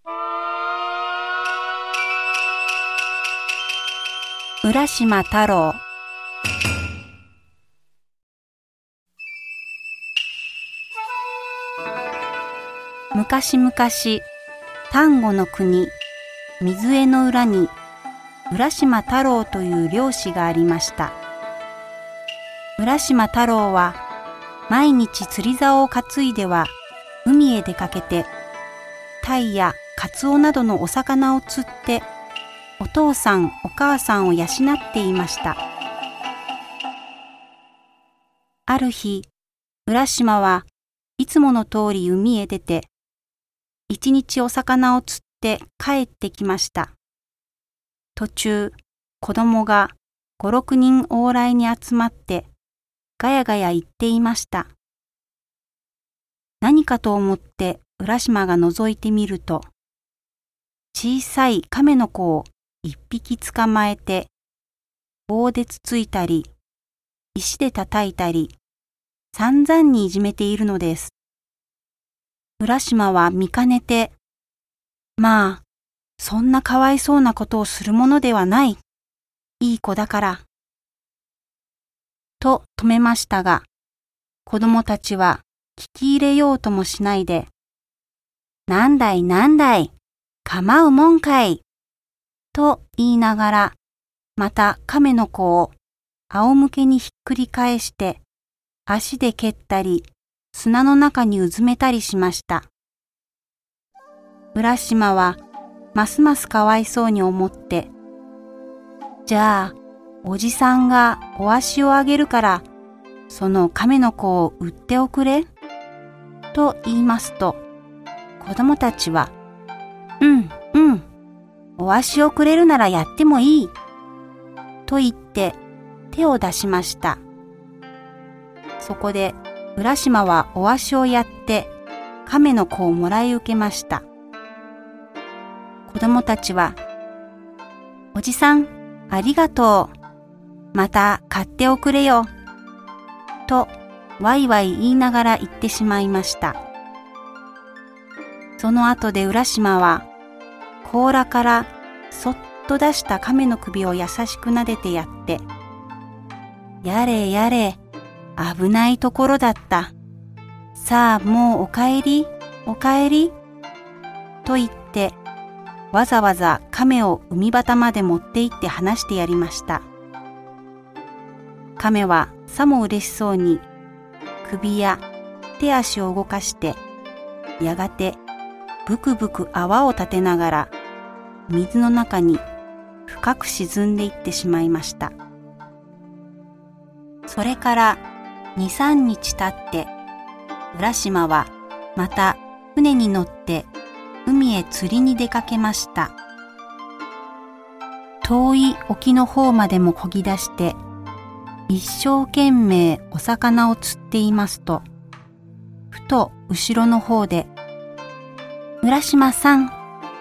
浦島太郎。昔々、丹後の国、水江の浦に浦島太郎という漁師がありました。浦島太郎は毎日釣り竿を担いでは海へ出かけて、鯛やカツオなどのお魚を釣ってお父さんお母さんを養っていました。ある日、浦島はいつもの通り海へ出て、一日お魚を釣って帰ってきました。途中、子供が5、6人往来に集まってガヤガヤ言っていました。何かと思って浦島が覗いてみると、小さい亀の子を一匹捕まえて、棒でつついたり、石で叩いたり、散々にいじめているのです。浦島は見かねて、まあ、そんなかわいそうなことをするものではない。いい子だから。と止めましたが、子供たちは聞き入れようともしないで、なんだい、構うもんかい。と言いながら、また亀の子を仰向けにひっくり返して、足で蹴ったり、砂の中にうずめたりしました。浦島はますますかわいそうに思って、じゃあおじさんがお足をあげるから、その亀の子を売っておくれと言いますと、子供たちは、お足をくれるならやってもいいと言って手を出しました。そこで浦島はお足をやって亀の子をもらい受けました。子供たちは、おじさんありがとう。また買っておくれよ。とわいわい言いながら言ってしまいました。その後で浦島は甲羅からそっと出した亀の首を優しく撫でてやって、やれやれ、危ないところだった。さあもうお帰り、と言って、わざわざ亀を海端まで持って行って離してやりました。亀はさも嬉しそうに首や手足を動かして、やがてブクブク泡を立てながら水の中に深く沈んでいってしまいました。それから2、3日経って、浦島はまた船に乗って海へ釣りに出かけました。遠い沖の方までも漕ぎ出して、一生懸命お魚を釣っていますと、ふと後ろの方で、浦島さん、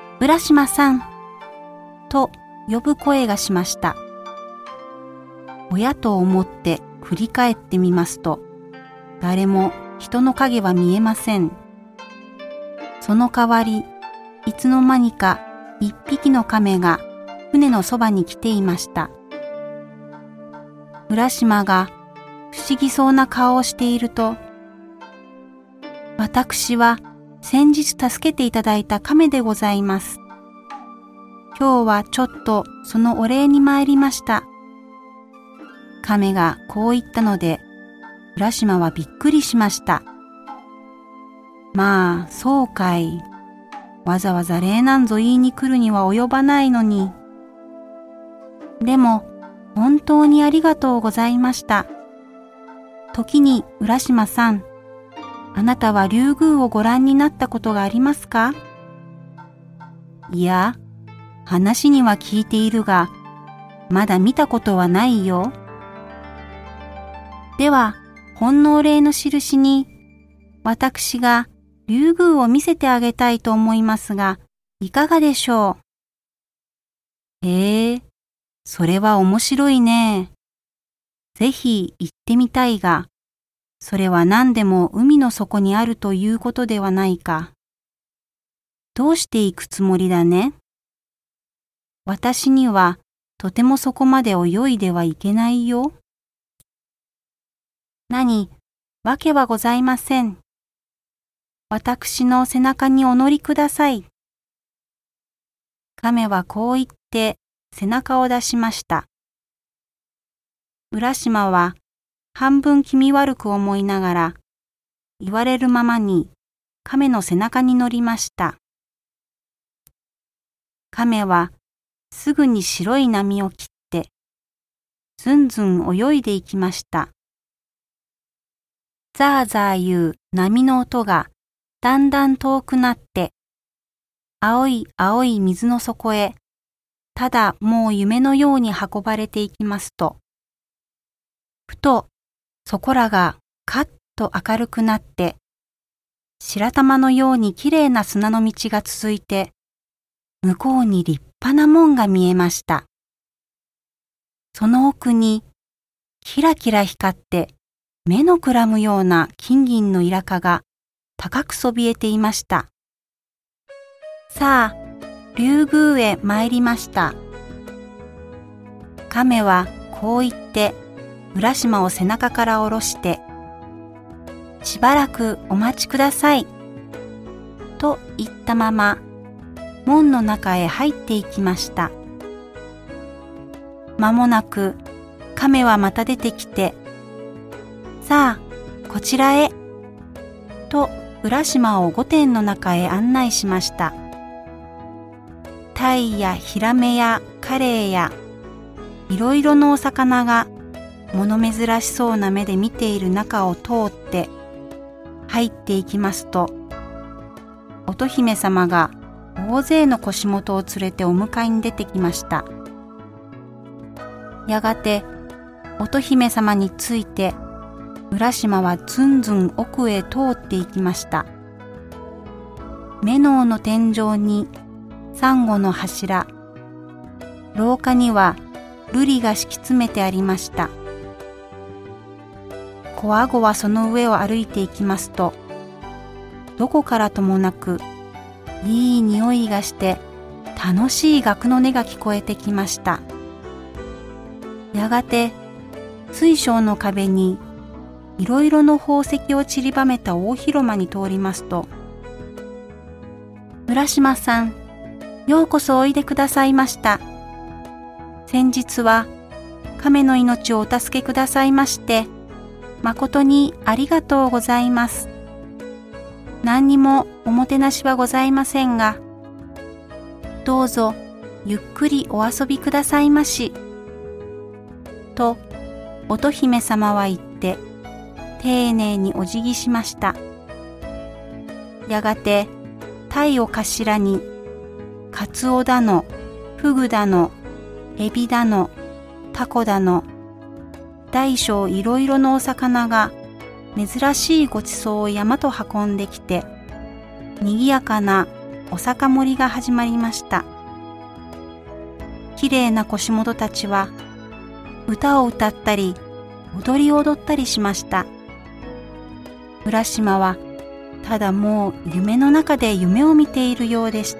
と呼ぶ声がしました。親と思って振り返ってみますと、誰も人の影は見えません。その代わり、いつの間にか一匹の亀が船のそばに来ていました。浦島が不思議そうな顔をしていると、私は先日助けていただいた亀でございます。今日はちょっとそのお礼に参りました。亀がこう言ったので、浦島はびっくりしました。まあ、そうかい。わざわざ礼なんぞ言いに来るには及ばないのに。でも、本当にありがとうございました。時に浦島さん、あなたは竜宮をご覧になったことがありますか？いや、話には聞いているが、まだ見たことはないよ。では、ほんのお礼の印に、私が竜宮を見せてあげたいと思いますが、いかがでしょう？それは面白いね。ぜひ行ってみたいが、それは何でも海の底にあるということではないか。 どうして行くつもりだね。私にはとてもそこまで泳いではいけないよ。何、わけはございません。私の背中にお乗りください。亀はこう言って背中を出しました。浦島は半分気味悪く思いながら、言われるままに亀の背中に乗りました。亀はすぐに白い波を切って、ずんずん泳いでいきました。ザーザーいう波の音がだんだん遠くなって、青い青い水の底へ、ただもう夢のように運ばれていきますと、ふとそこらがカッと明るくなって、白玉のようにきれいな砂の道が続いて、向こうに立派な門が見えました。その奥にキラキラ光って目のくらむような金銀のイラカが高くそびえていました。さあ、竜宮へ参りました。亀はこう言って浦島を背中から下ろして、しばらくお待ちください。と言ったまま、門の中へ入っていきました。間もなく亀はまた出てきて、さあ、こちらへ。と浦島を御殿の中へ案内しました。鯛やヒラメやカレイやいろいろのお魚が物珍しそうな目で見ている中を通って入っていきますと、乙姫様が大勢の腰元を連れてお迎えに出てきました。やがて乙姫様について浦島はずんずん奥へ通っていきました。目のの天井にサンゴの柱、廊下には瑠璃が敷き詰めてありました。こわごわその上を歩いていきますと、どこからともなくいい匂いがして楽しい楽の音が聞こえてきました。やがて水晶の壁にいろいろの宝石を散りばめた大広間に通りますと、浦島さん、ようこそおいでくださいました。先日は亀の命をお助けくださいまして、誠にありがとうございます。何にもおもてなしはございませんが、どうぞゆっくりお遊びくださいまし。と、乙姫様は言って、丁寧にお辞儀しました。やがて、鯛を頭に、カツオだの、フグだの、エビだの、タコだの、大小いろいろのお魚が珍しいごちそうを山と運んできて、にぎやかなお酒盛りが始まりました。きれいな腰元たちは歌を歌ったり踊り踊ったりしました。浦島はただもう夢の中で夢を見ているようでした。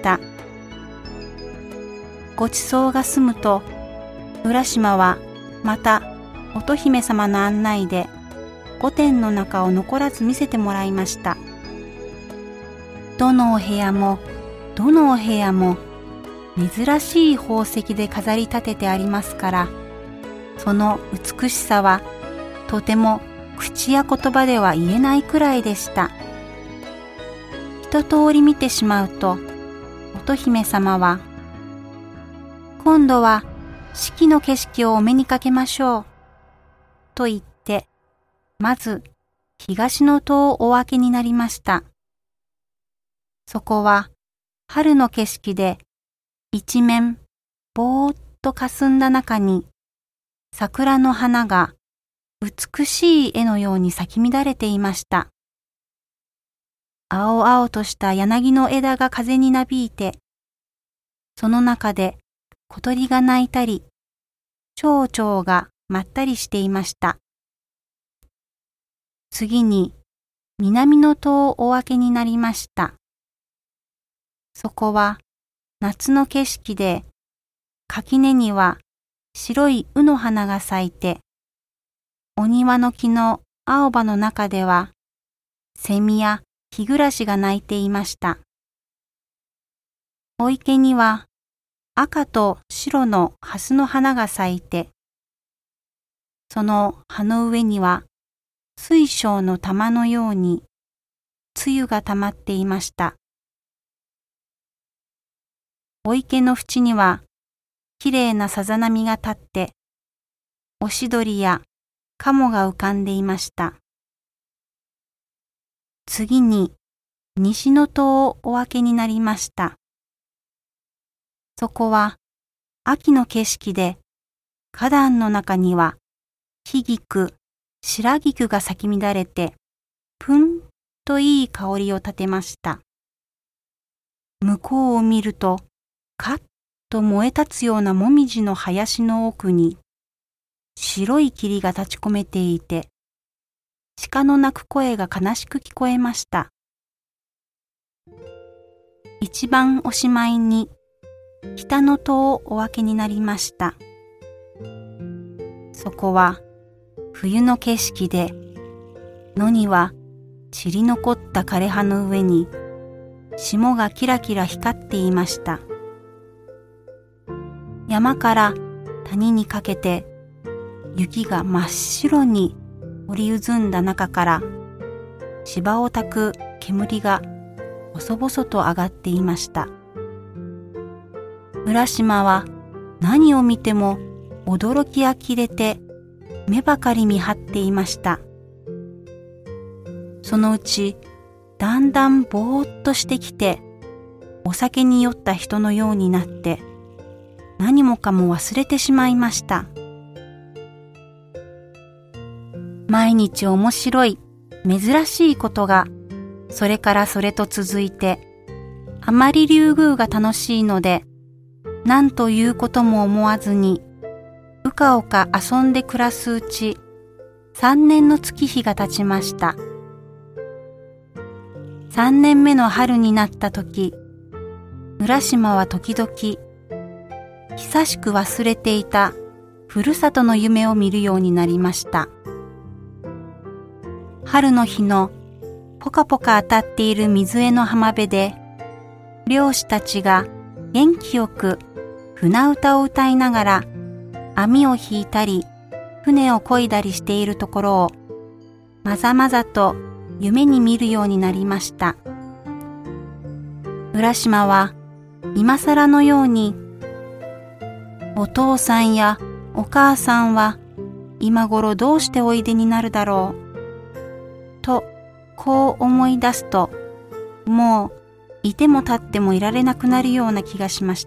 ごちそうが済むと、浦島はまた乙姫様の案内で御殿の中を残らず見せてもらいました。どのお部屋もどのお部屋も珍しい宝石で飾り立ててありますから、その美しさはとても口や言葉では言えないくらいでした。一通り見てしまうと、乙姫様は、今度は四季の景色をお目にかけましょう、と言って、まず東の戸をお開けになりました。そこは春の景色で、一面ぼーっと霞んだ中に、桜の花が美しい絵のように咲き乱れていました。青々とした柳の枝が風になびいて、その中で小鳥が鳴いたり、蝶々がまったりしていました。次に南の戸をお開けになりました。 そこは夏の景色で、垣根には白い卯の花が咲いて、お庭の木の青葉の中では、セミや日暮らしが鳴いていました。お池には赤と白の蓮の花が咲いて、その葉の上には水晶の玉のように露が溜まっていました。お池の縁にはきれいなさざ波が立って、オシドリやカモが浮かんでいました。次に西の戸をお開けになりました。そこは秋の景色で、花壇の中には木菊、白菊が咲き乱れて、ぷんといい香りを立てました。向こうを見ると、カッと燃え立つようなもみじの林の奥に、白い霧が立ち込めていて、鹿の鳴く声が悲しく聞こえました。一番おしまいに、北の戸をお開けになりました。そこは冬の景色で、野には散り残った枯葉の上に霜がキラキラ光っていました。山から谷にかけて雪が真っ白に織り渦んだ中から芝を焚く煙が細々と上がっていました。浦島は何を見ても驚き呆れて目ばかり見張っていました。そのうちだんだんぼーっとしてきて、お酒に酔った人のようになって何もかも忘れてしまいました。毎日面白い珍しいことがそれからそれと続いて、あまり竜宮が楽しいので何ということも思わずにうかうか遊んで暮らすうち、3年の月日が経ちました。3年目の春になった時、浦島は時々久しく忘れていたふるさとの夢を見るようになりました。春の日のポカポカ当たっている水辺の浜辺で、漁師たちが元気よく船歌を歌いながら網を引いたり船を漕いだりしているところをまざまざと夢に見るようになりました。浦島は今更のように、お父さんやお母さんは今頃どうしておいでになるだろうとこう思い出すと、もういても立ってもいられなくなるような気がしました。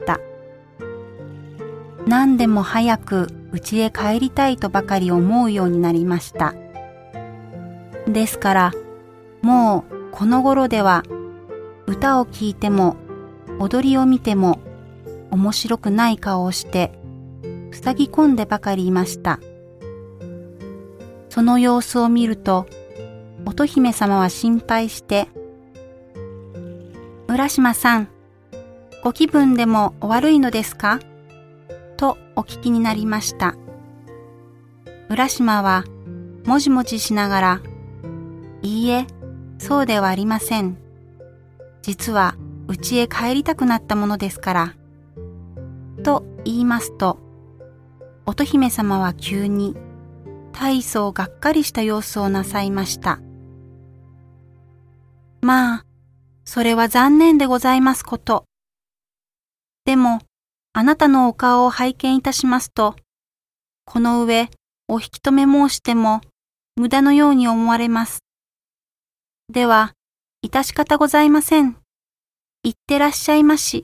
何でも早く家へ帰りたいとばかり思うようになりました。ですからもうこの頃では歌を聴いても踊りを見ても面白くない顔をして塞ぎ込んでばかりいました。その様子を見ると乙姫様は心配して、浦島さん、ご気分でもお悪いのですかとお聞きになりました。浦島はもじもじしながら、いいえ、そうではありません。実は家へ帰りたくなったものですから。と言いますと、乙姫様は急に大層がっかりした様子をなさいました。まあ、それは残念でございますこと。でも、あなたのお顔を拝見いたしますと、この上お引き止め申しても無駄のように思われます。では、致し方ございません。行ってらっしゃいまし。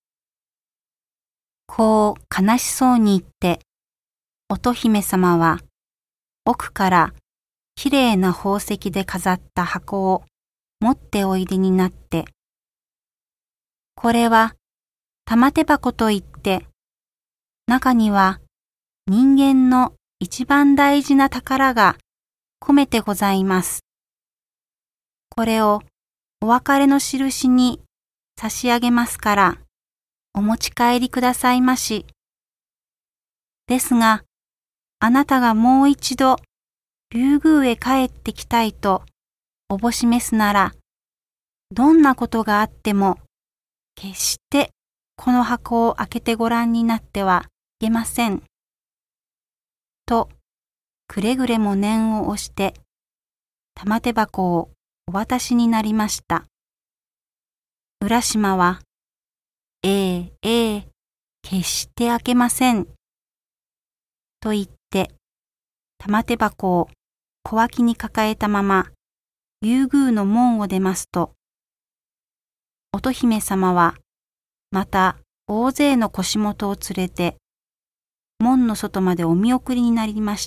こう悲しそうに言って、乙姫様は奥からきれいな宝石で飾った箱を持っておいでになって、これは玉手箱といって、中には人間の一番大事な宝が込めてございます。これをお別れの印に差し上げますから、お持ち帰りくださいまし。ですが、あなたがもう一度、竜宮へ帰ってきたいとおぼしめすなら、どんなことがあっても、決してこの箱を開けてごらんになってはいけません。と、くれぐれも念を押して、玉手箱をお渡しになりました。浦島は、決して開けません。と言って、玉手箱を小脇に抱えたまま、竜宮の門を出ますと、乙姫様は、また大勢の腰元を連れて、門の外までお見送りになりました。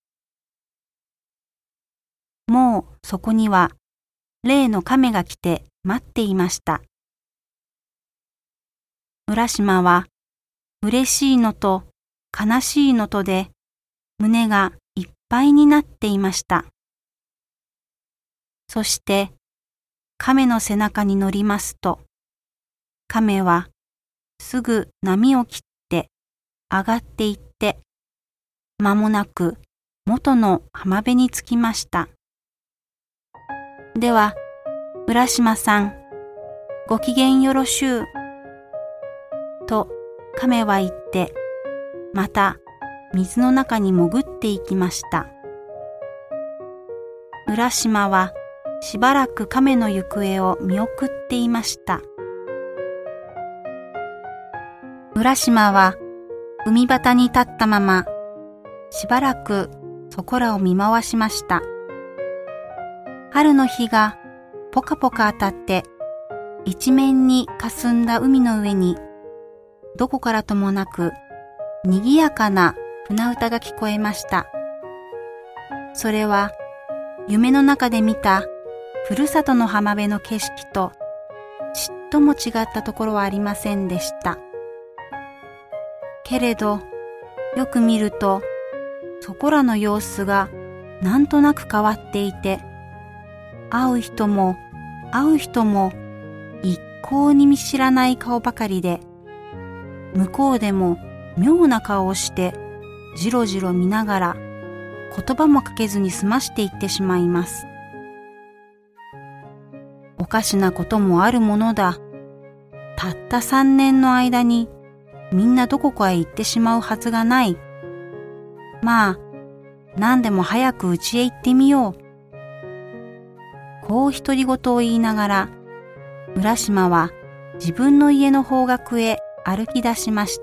もうそこには、例の亀が来て待っていました。浦島は、嬉しいのと悲しいのとで、胸がいっぱいになっていました。そして、亀の背中に乗りますと、亀はすぐ波を切って上がっていって、間もなく元の浜辺に着きました。では、浦島さん、ごきげんよろしゅう。と亀は言って、また水の中に潜っていきました。浦島はしばらく亀の行方を見送っていました。浦島は海端に立ったまま、しばらくそこらを見回しました。春の日がポカポカ当たって、一面に霞んだ海の上に、どこからともなく、にぎやかな船歌が聞こえました。それは、夢の中で見た、ふるさとの浜辺の景色と、ちっとも違ったところはありませんでした。けれど、よく見ると、そこらの様子がなんとなく変わっていて、会う人も一向に見知らない顔ばかりで、向こうでも妙な顔をしてじろじろ見ながら言葉もかけずに済ましていってしまいます。おかしなこともあるものだ。たった3年の間にみんなどこかへ行ってしまうはずがない。まあ、何でも早く家へ行ってみよう。こう独り言を言いながら、浦島は自分の家の方角へ歩き出しました。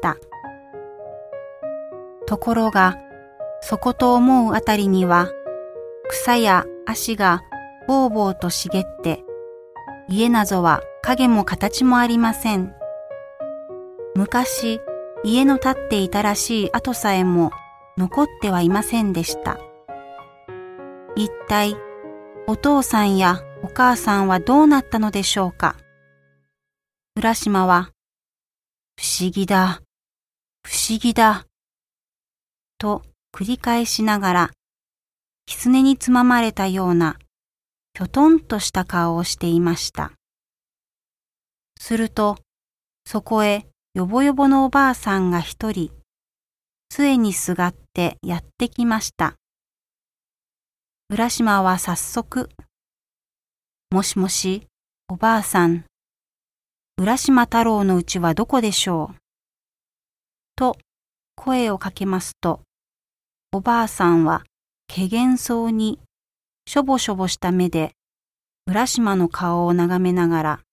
ところが、そこと思うあたりには、草や足がぼうぼうと茂って、家なぞは影も形もありません。昔、家の建っていたらしい跡さえも残ってはいませんでした。一体、お父さんやお母さんはどうなったのでしょうか。浦島は、不思議だ、不思議だ、と繰り返しながら、狐につままれたような、きょとんとした顔をしていました。すると、そこへよぼよぼのおばあさんが一人、杖にすがってやってきました。浦島は早速、もしもし、おばあさん、浦島太郎の家はどこでしょうと声をかけますと、おばあさんはけげんそうにしょぼしょぼした目で浦島の顔を眺めながら、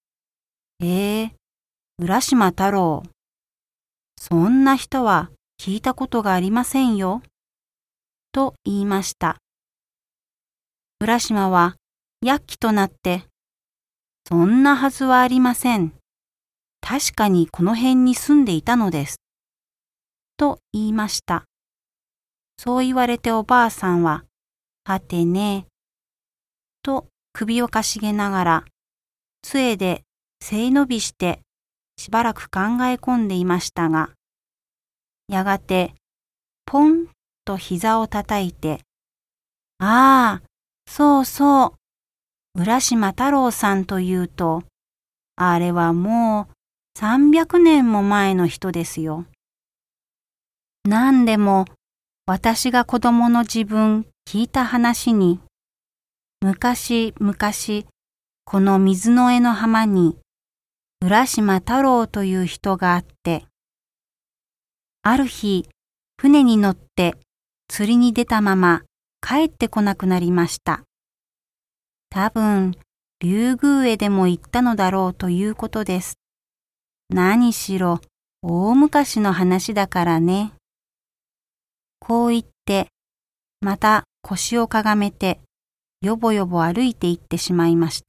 浦島太郎、そんな人は聞いたことがありませんよ、と言いました。浦島はやっきとなって、そんなはずはありません。確かにこの辺に住んでいたのです。と言いました。そう言われておばあさんは、はてね、と首をかしげながら、杖で背伸びしてしばらく考え込んでいましたが、やがて、ポンと膝をたたいて、ああ、そうそう、浦島太郎さんというと、 あれはもう300年も前の人ですよ。なんでも私が子供の自分聞いた話に、昔々この水の江の浜に浦島太郎という人があって、ある日船に乗って釣りに出たまま帰ってこなくなりました。多分竜宮へでも行ったのだろうということです。何しろ大昔の話だからね。こう言ってまた腰をかがめてよぼよぼ歩いて行ってしまいました。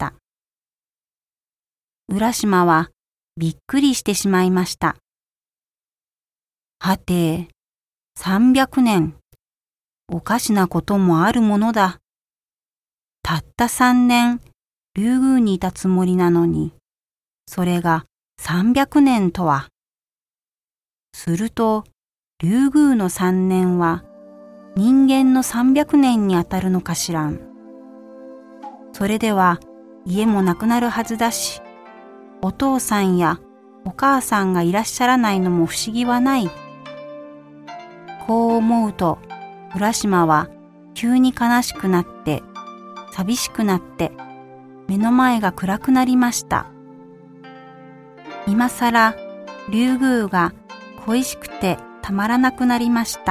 浦島はびっくりしてしまいました。はて、300年、おかしなこともあるものだ。たった3年、竜宮にいたつもりなのに、それが300年とは。すると、竜宮の3年は人間の300年にあたるのかしらん。それでは家もなくなるはずだし、お父さんやお母さんがいらっしゃらないのも不思議はない。こう思うと、浦島は急に悲しくなって、寂しくなって、目の前が暗くなりました。今さら竜宮が恋しくてたまらなくなりました。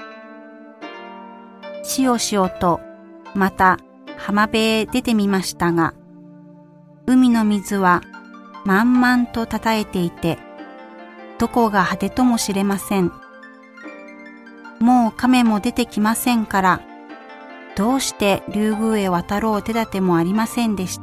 しおしおとまた浜辺へ出てみましたが、海の水は満々とたたえていて、どこが果てとも知れません。もう亀も出てきませんから、どうして竜宮へ渡ろう手立てもありませんでした。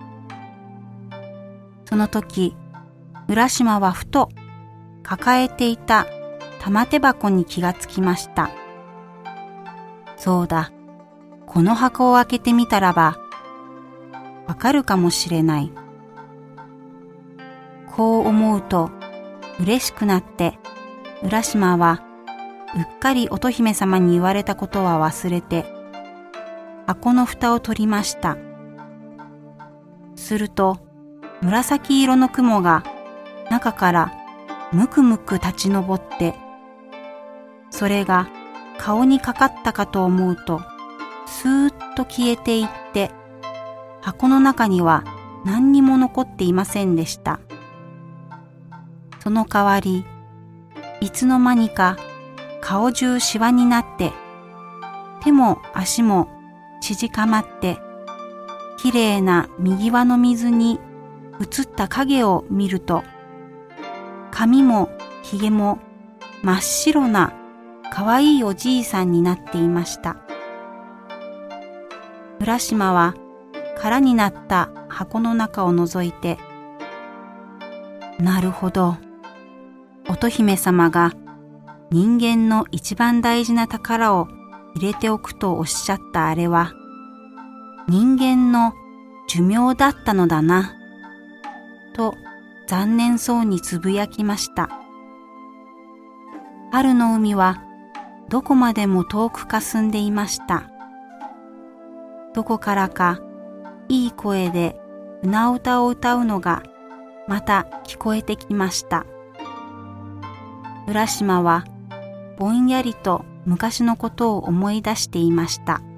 その時、浦島はふと抱えていた玉手箱に気がつきました。そうだ、この箱を開けてみたらば、わかるかもしれない。こう思うと、嬉しくなって、浦島はうっかり乙姫様に言われたことは忘れて、箱の蓋を取りました。すると、紫色の雲が中からむくむく立ち上って、それが顔にかかったかと思うと、スーッと消えていって、箱の中には何にも残っていませんでした。その代わり、いつの間にか顔中シワになって、手も足も縮かまって、きれいな右輪の水に映った影を見ると、髪もひげも真っ白なかわいいおじいさんになっていました。浦島は空になった箱の中を覗いて、なるほど、乙姫様が人間の一番大事な宝を入れておくとおっしゃったあれは、人間の寿命だったのだな、と残念そうにつぶやきました。春の海はどこまでも遠くかすんでいました。どこからかいい声で船歌を歌うのがまた聞こえてきました。浦島はぼんやりと昔のことを思い出していました。